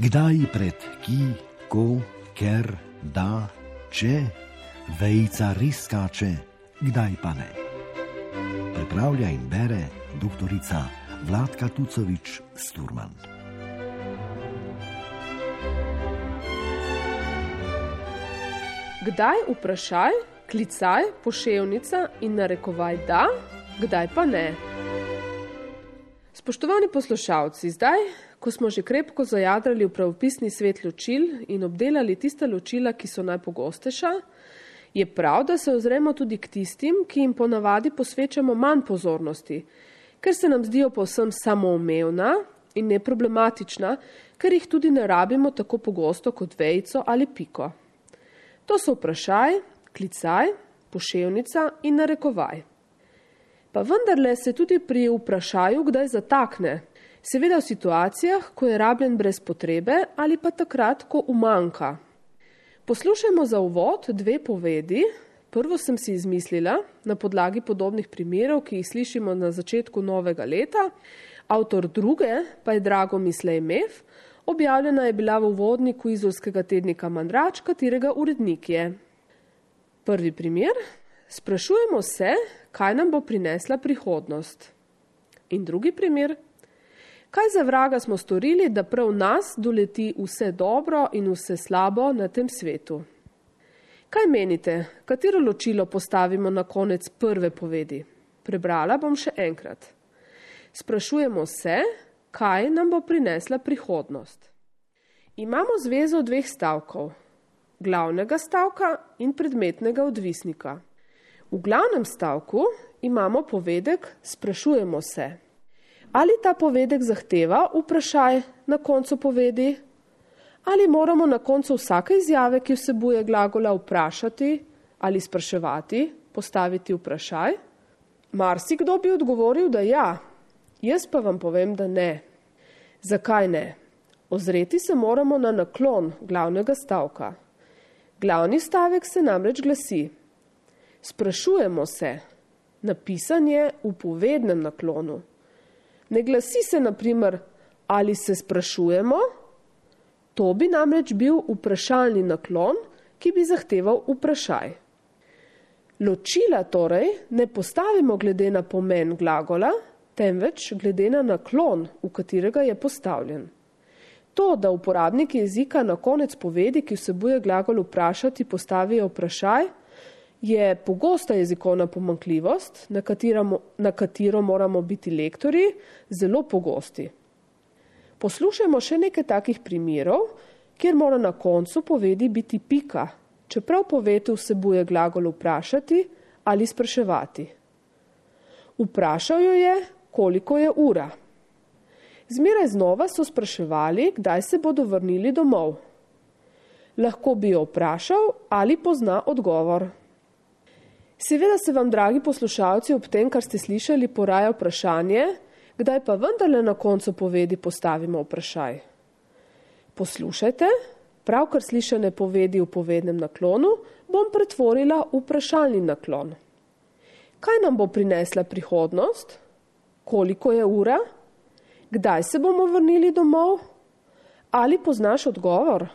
Kdaj pred ki, ko, ker, da, če, vejica res skače, kdaj pa ne. Pripravlja in bere doktorica Vladka Tucovič-Sturman. Kdaj vprašaj, klicaj, poševnica in narekovaj da, kdaj pa ne. Spoštovani poslušalci, zdaj, ko smo že krepko zajadrali v pravopisni svet ločil in obdelali tista ločila, ki so najpogostejša, je prav, da se ozremo tudi k tistim, ki jim ponavadi posvečamo manj pozornosti, ker se nam zdijo povsem samoumevna in neproblematična, ker jih tudi ne rabimo tako pogosto kot vejico ali piko. To so vprašaj, klicaj, poševnica in narekovaj. Pa vendarle se tudi pri vprašaju kdaj zatakne, seveda v situacijah, ko je rabljen brez potrebe ali pa takrat, ko umanjka. Poslušajmo za uvod dve povedi. Prvo sem si izmislila na podlagi podobnih primerov, ki jih slišimo na začetku novega leta. Avtor druge pa je Dragomir Slejmev, objavljena je bila v uvodniku izolskega tednika Mandrač, katerega urednik je. Prvi primer. Sprašujemo se, kaj nam bo prinesla prihodnost. In drugi primer. Kaj za vraga smo storili, da prav nas doleti vse dobro in vse slabo na tem svetu? Kaj menite, katero ločilo postavimo na konec prve povedi? Prebrala bom še enkrat. Sprašujemo se, kaj nam bo prinesla prihodnost. Imamo zvezo dveh stavkov, glavnega stavka in predmetnega odvisnika. V glavnem stavku imamo povedek sprašujemo se. Ali ta povedek zahteva vprašaj na koncu povedi? Ali moramo na koncu vsake izjave, ki vsebuje glagola, vprašati ali spraševati, postaviti vprašaj? Marsikdo bi odgovoril, da ja, jaz pa vam povem, da ne. Zakaj ne? Ozreti se moramo na naklon glavnega stavka. Glavni stavek se namreč glasi: sprašujemo se, napisan je v povednem naklonu. Ne glasi se, na primer, ali se sprašujemo, to bi namreč bil vprašalni naklon, ki bi zahteval vprašaj. Ločila torej ne postavimo glede na pomen glagola, temveč glede na naklon, v katerega je postavljen. To, da uporabniki jezika na konec povedi, ki vsebuje glagol vprašati, postavijo vprašaj, je pogosta jezikovna pomanjkljivost, na katero moramo biti lektorji zelo pogosti. Poslušajmo še nekaj takih primerov, kjer mora na koncu povedi biti pika, čeprav poved vsebuje glagol vprašati ali spraševati. Vprašal jo je, koliko je ura. Zmeraj znova so spraševali, kdaj se bodo vrnili domov. Lahko bi jo vprašal ali pozna odgovor. Seveda se vam, dragi poslušalci, ob tem, kar ste slišali, poraja vprašanje, kdaj pa vendarle na koncu povedi postavimo vprašaj. Poslušajte, pravkar slišane povedi v povednem naklonu bom pretvorila v vprašalni naklon. Kaj nam bo prinesla prihodnost? Koliko je ura? Kdaj se bomo vrnili domov? Ali poznaš odgovor?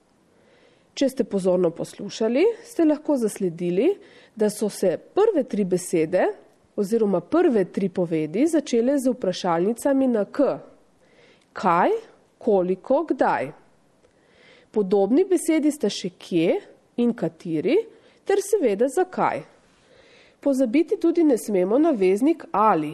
Če ste pozorno poslušali, ste lahko zasledili, da so se prve tri besede oziroma prve tri povedi začele z vprašalnicami na k. Kaj, koliko, kdaj. Podobni besedi sta še kje in kateri, ter seveda zakaj. Pozabiti tudi ne smemo na veznik ali.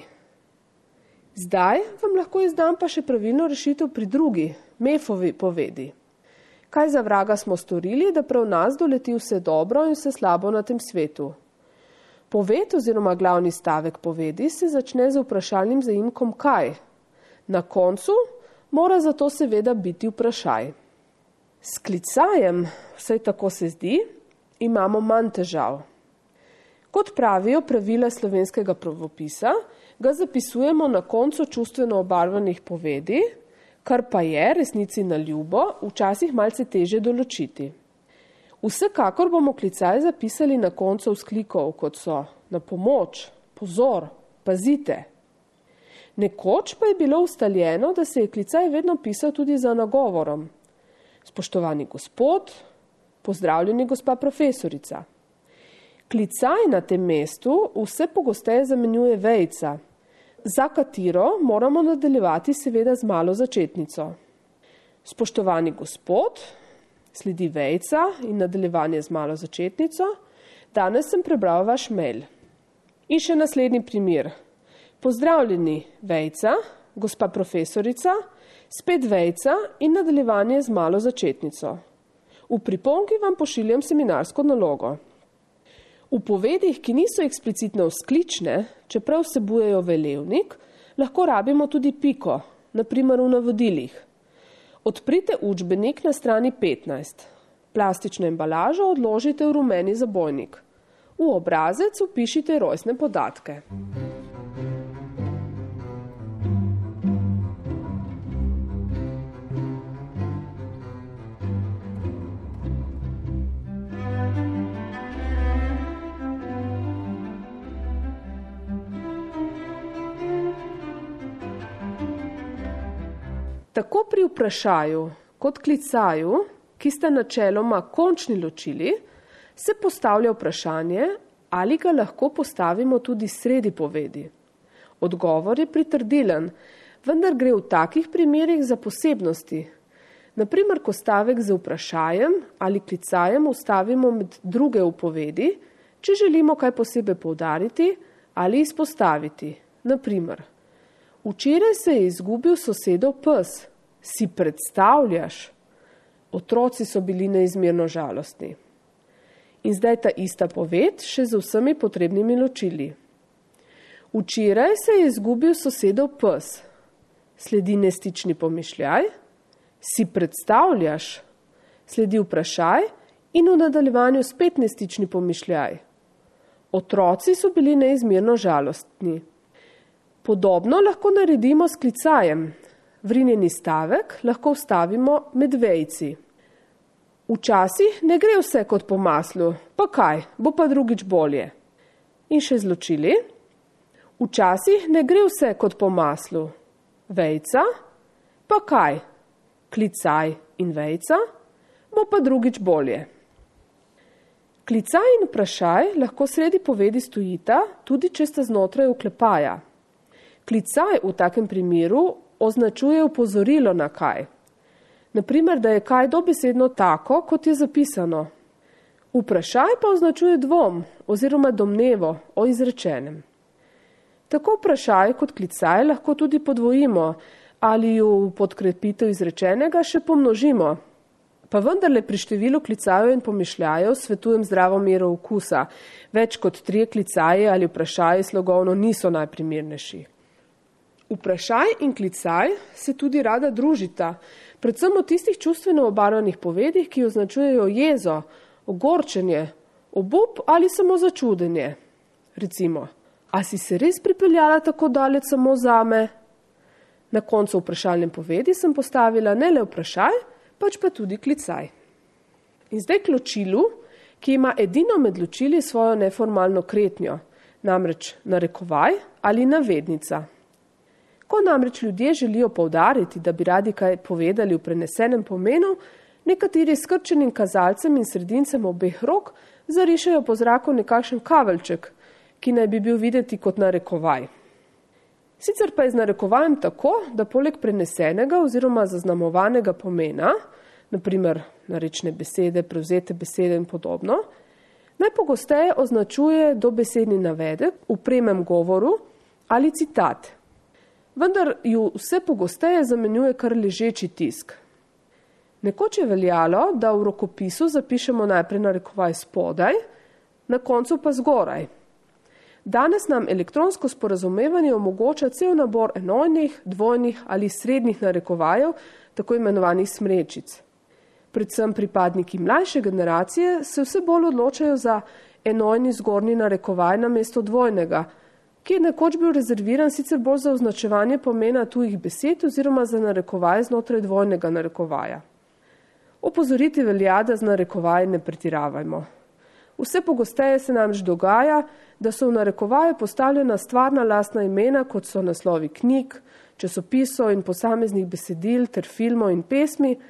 Zdaj vam lahko izdam pa še pravilno rešitev pri drugi, Mefovi povedi. Kaj za vraga smo storili, da prav nas doleti vse dobro in vse slabo na tem svetu? Poved oziroma glavni stavek povedi se začne z vprašalnim zaimkom kaj. Na koncu mora zato seveda biti vprašaj. S klicajem, vsaj tako se zdi, imamo manj težav. Kot pravijo pravila slovenskega pravopisa, ga zapisujemo na koncu čustveno obarvanih povedi, kar pa je resnici na ljubo včasih malce teže določiti. Vsekakor bomo klicaj zapisali na koncu vzklikov, kot so na pomoč, pozor, pazite. Nekoč pa je bilo ustaljeno, da se je klicaj vedno pisal tudi za nagovorom. Spoštovani gospod, pozdravljeni gospa profesorica. Klicaj na tem mestu vse pogosteje zamenjuje vejica, za katero moramo nadaljevati seveda z malo začetnico. Spoštovani gospod, sledi vejica in nadaljevanje z malo začetnico. Danes sem prebral vaš mail. In še naslednji primer. Pozdravljeni vejica, gospa profesorica, spet vejica in nadaljevanje z malo začetnico. V priponki vam pošiljam seminarsko nalogo. V povedih, ki niso eksplicitno vzklične, čeprav vsebujejo velevnik, lahko rabimo tudi piko, na primer v navodilih. Odprite učbenik na strani 15. Plastično embalažo odložite v rumeni zabojnik. V obrazec vpišite rojstne podatke. Tako pri vprašaju kot klicaju, ki sta načeloma končni ločili, se postavlja vprašanje, ali ga lahko postavimo tudi sredi povedi. Odgovor je pritrdilen, vendar gre v takih primerih za posebnosti. Naprimer, ko stavek z vprašajem ali klicajem vstavimo med druge v povedi, če želimo kaj posebej poudariti ali izpostaviti. Naprimer, včeraj se je izgubil sosedov pes. Si predstavljaš? Otroci so bili neizmerno žalostni. In zdaj ta ista poved še z vsemi potrebnimi ločili. Včeraj se je izgubil sosedov pes. Sledi nestični pomišljaj. Si predstavljaš? Sledi vprašaj in v nadaljevanju spet nestični pomišljaj. Otroci so bili neizmerno žalostni. Podobno lahko naredimo s klicajem. Vrinjeni stavek lahko vstavimo med vejci. Včasih ne gre vse kot po maslu, pa kaj, bo pa drugič bolje. In še zločili. Včasih ne gre vse kot po maslu. Vejca, pa kaj, klicaj in vejca, bo pa drugič bolje. Klicaj in vprašaj lahko sredi povedi stojita, tudi če sta znotraj oklepaja. Klicaj v takem primeru označuje opozorilo na kaj. Naprimer, da je kaj dobesedno tako, kot je zapisano. Vprašaj pa označuje dvom oziroma domnevo o izrečenem. Tako vprašaj kot klicaj lahko tudi podvojimo ali jo v podkrepitev izrečenega še pomnožimo. Pa vendarle pri številu klicajev in pomišljajev svetujem zdravo mero okusa. Več kot 3 klicaje ali vprašaji slogovno niso najprimernejši. Vprašaj in klicaj se tudi rada družita, predvsem v tistih čustveno obarvanih povedih, ki označujejo jezo, ogorčenje, obup ali samo začudenje. Recimo, a si se res pripeljala tako daleč samo zame? Na koncu vprašalne povedi sem postavila ne le vprašaj, pač pa tudi klicaj. In zdaj k ločilu, ki ima edino med ločili svojo neformalno kretnjo, namreč narekovaj ali navednica. Ko namreč ljudje želijo poudariti, da bi radi kaj povedali v prenesenem pomenu, nekateri s krčenim kazalcem in sredincem obeh rok zarišajo po zraku nekakšen kaveljček, ki naj bi bil videti kot narekovaj. Sicer pa je z narekovajem tako, da poleg prenesenega oziroma zaznamovanega pomena, naprimer narečne besede, prevzete besede in podobno, najpogosteje označuje dobesedni navedek v premem govoru ali citat. Vendar ju vse pogosteje zamenjuje kar ležeči tisk. Nekoč je veljalo, da v rokopisu zapišemo najprej narekovaj spodaj, na koncu pa zgoraj. Danes nam elektronsko sporazumevanje omogoča cel nabor enojnih, dvojnih ali srednjih narekovajev, tako imenovanih smrečic. Predvsem pripadniki mlajše generacije se vse bolj odločajo za enojni zgornji narekovaj namesto dvojnega, ki je nekoč bil rezerviran sicer bolj za označevanje pomena tujih besed oziroma za narekovaj znotraj dvojnega narekovaja. Opozoriti velja, da z narekovaji ne pretiravajmo. Vse pogosteje se namreč dogaja, da so v narekovaje postavljena stvarna lastna imena, kot so naslovi knjig, časopisov in posameznih besedil ter filmov in pesmi,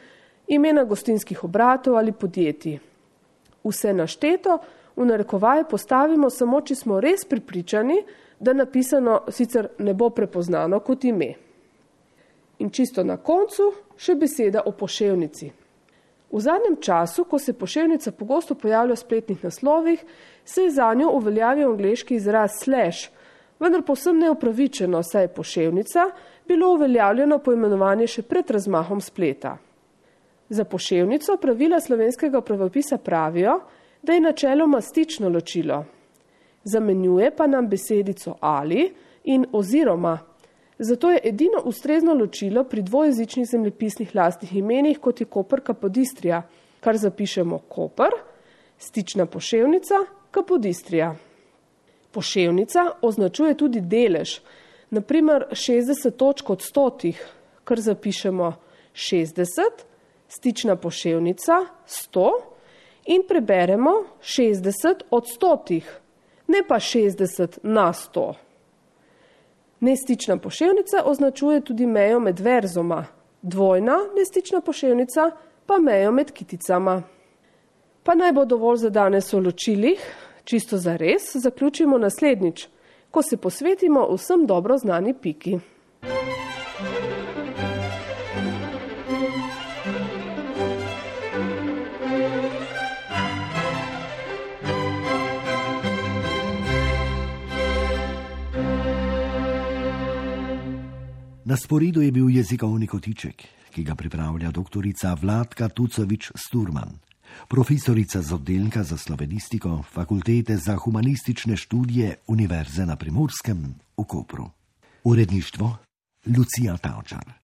imena gostinskih obratov ali podjetij. Vse našteto v narekovaje postavimo samo, če smo res prepričani, da napisano sicer ne bo prepoznano kot ime. In čisto na koncu še beseda o poševnici. V zadnjem času, ko se poševnica pogosto pojavlja v spletnih naslovih, se je zanjo uveljavil angleški izraz slash, vendar povsem neupravičeno, saj je poševnica bilo uveljavljeno poimenovanje še pred razmahom spleta. Za poševnico pravila slovenskega pravopisa pravijo, da je načeloma stično ločilo. Zamenjuje pa nam besedico ali in oziroma. Zato je edino ustrezno ločilo pri dvojezičnih zemljepisnih lastnih imenih, kot je Koper Kapodistrija, kar zapišemo Koper, stična poševnica, Kapodistrija. Poševnica označuje tudi delež, naprimer 60 točk od 100, kar zapišemo 60, stična poševnica 100 in preberemo 60 od 100, ne pa 60 na 100. Nestična poševnica označuje tudi mejo med verzoma, dvojna nestična poševnica pa mejo med kiticama. Pa naj bo dovolj za danes o ločilih, čisto zares zaključimo naslednjič, ko se posvetimo vsem dobro znani piki. Na sporedu je bil jezikovni kotiček, ki ga pripravlja doktorica Vladka Tucovič-Sturman, profesorica z oddelka za slovenistiko Fakultete za humanistične študije Univerze na Primorskem v Kopru. Uredništvo Lucija Tavčar.